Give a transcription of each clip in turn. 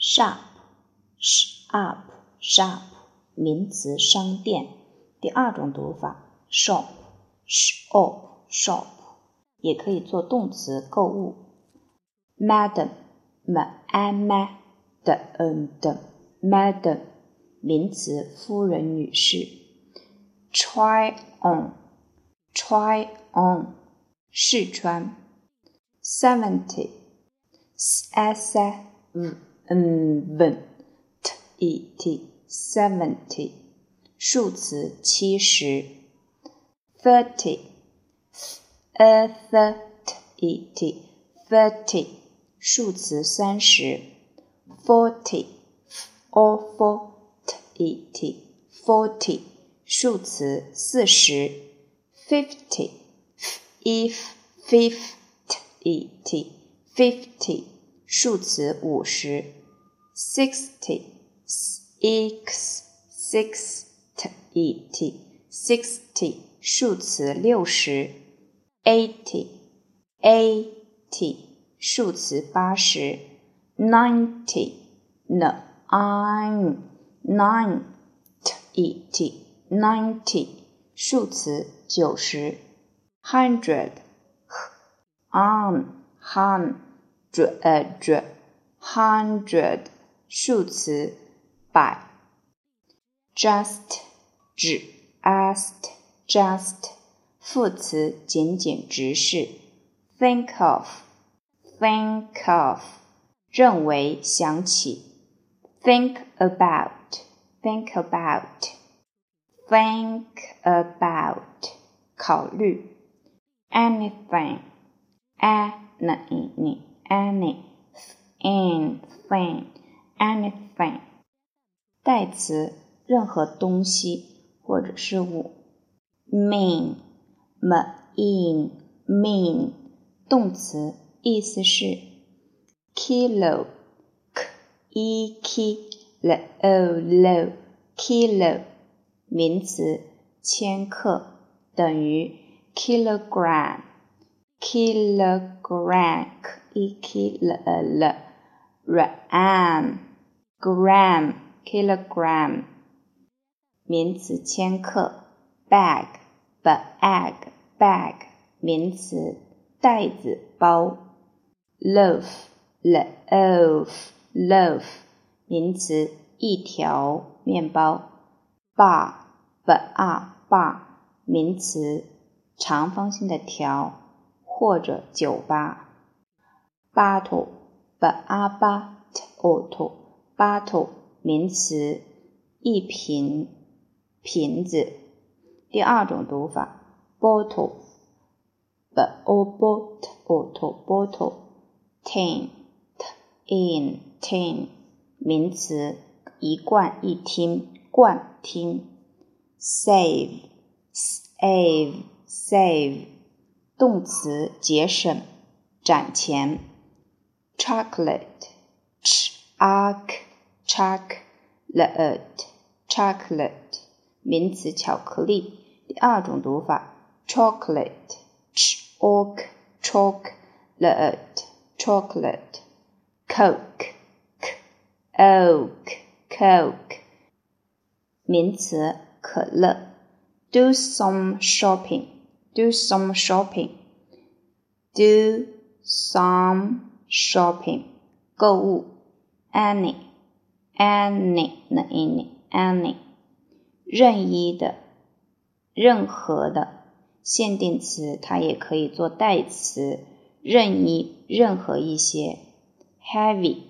shop shop 名词商店。第二种读法 shop也可以做动词购物。madam madam 名词夫人女士。try on 试穿。70 70数词70。30 数词30。40 数词40。50 数词50。60 数词60。80 数词80。90 数词90。100 数词100。just 副词简简直视。think of 认为想起。think about 考虑。anything 代词任何东西或者事物。mean 动词意思是。kilo名词千克等于 kilogram kilogram 名词千克。bag 名词袋子包。loaf 名词一条面包。bar 名词长方形的条或者酒吧。bottle 名词一瓶瓶子。第二种读法 bottle tin 名词一罐一听罐听。save 动词节省攒钱。chocolate 名词巧克力。第二种读法 chocolate coke 名词可乐。do some shopping 购物。any 任意的任何的。限定词它也可以做代词，任意任何一些。heavy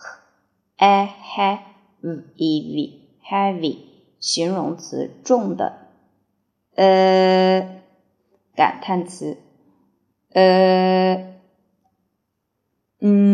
形容词重的。感叹词